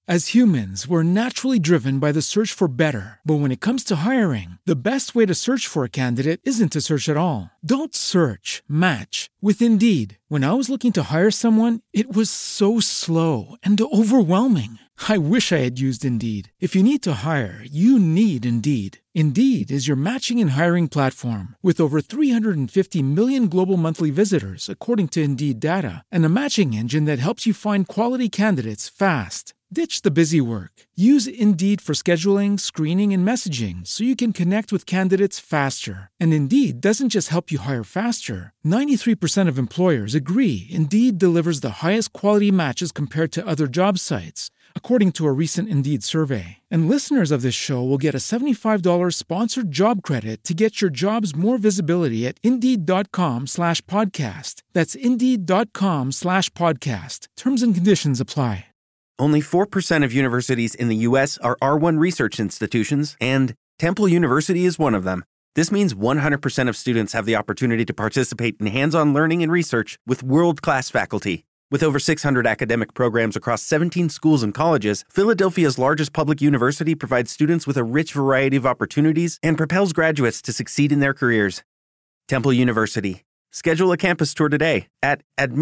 As humans, we're naturally driven by the search for better. But when it comes to hiring, the best way to search for a candidate isn't to search at all. Don't search, match with Indeed. When I was looking to hire someone, it was so slow and overwhelming. I wish I had used Indeed. If you need to hire, you need Indeed. Indeed is your matching and hiring platform with over 350 million global monthly visitors, according to Indeed data, and a matching engine that helps you find quality candidates fast. Ditch the busy work. Use Indeed for scheduling, screening, and messaging so you can connect with candidates faster. And Indeed doesn't just help you hire faster. 93% of employers agree Indeed delivers the highest quality matches compared to other job sites, according to a recent Indeed survey. And listeners of this show will get a $75 sponsored job credit to get your jobs more visibility at Indeed.com/podcast. That's Indeed.com/podcast. Terms and conditions apply. Only 4% of universities in the U.S. are R1 research institutions, and Temple University is one of them. This means 100% of students have the opportunity to participate in hands-on learning and research with world-class faculty. With over 600 academic programs across 17 schools and colleges, Philadelphia's largest public university provides students with a rich variety of opportunities and propels graduates to succeed in their careers. Temple University. Schedule a campus tour today at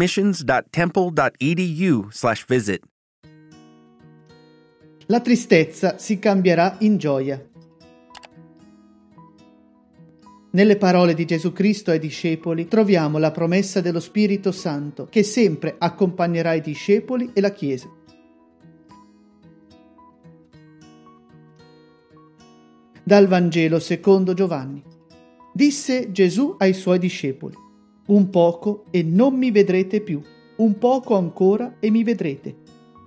admissions.temple.edu/visit. La tristezza si cambierà in gioia. Nelle parole di Gesù Cristo ai discepoli troviamo la promessa dello Spirito Santo che sempre accompagnerà i discepoli e la Chiesa. Dal Vangelo secondo Giovanni. Disse Gesù ai suoi discepoli: un poco e non mi vedrete più, un poco ancora e mi vedrete.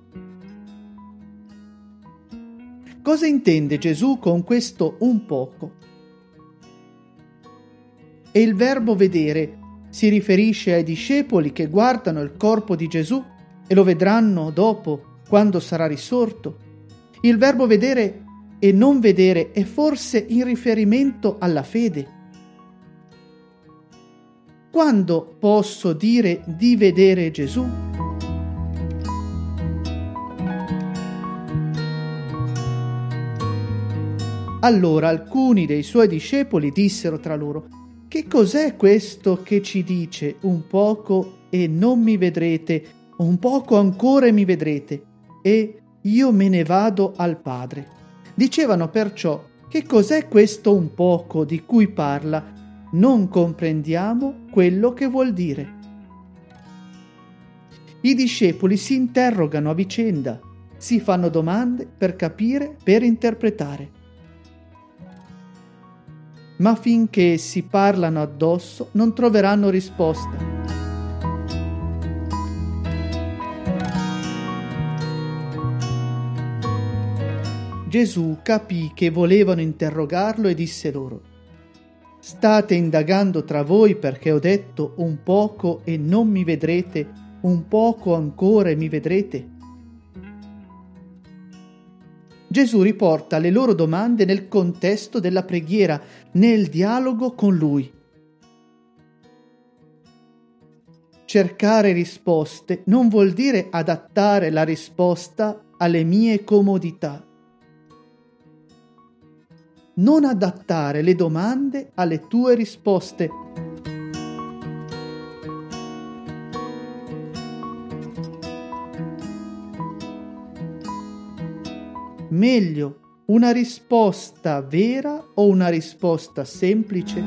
Cosa intende Gesù con questo un poco? E il verbo vedere si riferisce ai discepoli che guardano il corpo di Gesù e lo vedranno dopo, quando sarà risorto. Il verbo vedere e non vedere è forse in riferimento alla fede. Quando posso dire di vedere Gesù? Allora alcuni dei suoi discepoli dissero tra loro: che cos'è questo che ci dice un poco e non mi vedrete, un poco ancora e mi vedrete, e io me ne vado al Padre? Dicevano perciò: che cos'è questo un poco di cui parla? Non comprendiamo quello che vuol dire. I discepoli si interrogano a vicenda, si fanno domande per capire, per interpretare. Ma finché si parlano addosso non troveranno risposta. Gesù capì che volevano interrogarlo e disse loro: state indagando tra voi perché ho detto un poco e non mi vedrete, un poco ancora e mi vedrete? Gesù riporta le loro domande nel contesto della preghiera, nel dialogo con Lui. Cercare risposte non vuol dire adattare la risposta alle mie comodità. Non adattare le domande alle tue risposte. Meglio una risposta vera o una risposta semplice?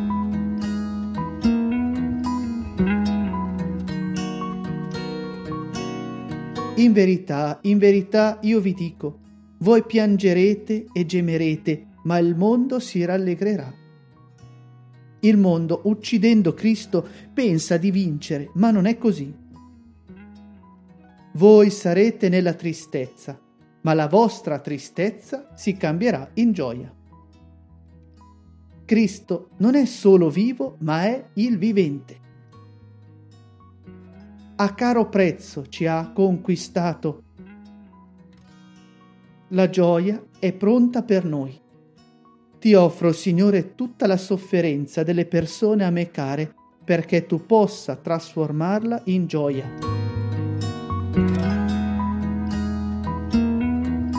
In verità io vi dico, voi piangerete e gemerete, ma il mondo si rallegrerà. Il mondo, uccidendo Cristo, pensa di vincere, ma non è così. Voi sarete nella tristezza, ma la vostra tristezza si cambierà in gioia. Cristo non è solo vivo, ma è il vivente. A caro prezzo ci ha conquistato. La gioia è pronta per noi. Ti offro, Signore, tutta la sofferenza delle persone a me care, perché tu possa trasformarla in gioia.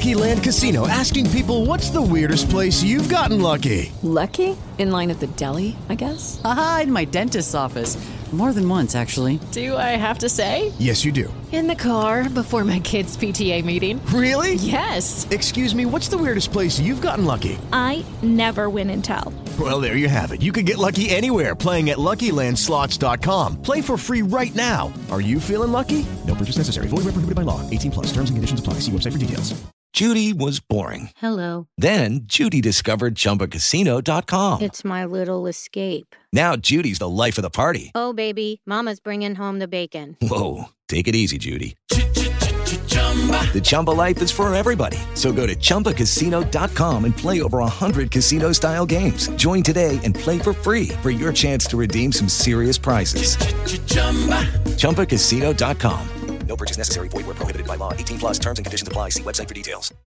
Lucky Land Casino, asking people, what's the weirdest place you've gotten lucky? Lucky? In line at the deli, I guess? Aha, in my dentist's office. More than once, actually. Do I have to say? Yes, you do. In the car before my kids' PTA meeting. Really? Yes. Excuse me, what's the weirdest place you've gotten lucky? I never win and tell. Well, there you have it. You can get lucky anywhere, playing at LuckyLandSlots.com. Play for free right now. Are you feeling lucky? No purchase necessary. Void where prohibited by law. 18+. Terms and conditions apply. See website for details. Judy was boring. Hello. Then Judy discovered ChumbaCasino.com. It's my little escape. Now Judy's the life of the party. Oh, baby, mama's bringing home the bacon. Whoa, take it easy, Judy. The Chumba life is for everybody. So go to ChumbaCasino.com and play over 100 casino-style games. Join today and play for free for your chance to redeem some serious prizes. ChumbaCasino.com. No purchase necessary. Void where prohibited by law. 18+. Terms and conditions apply. See website for details.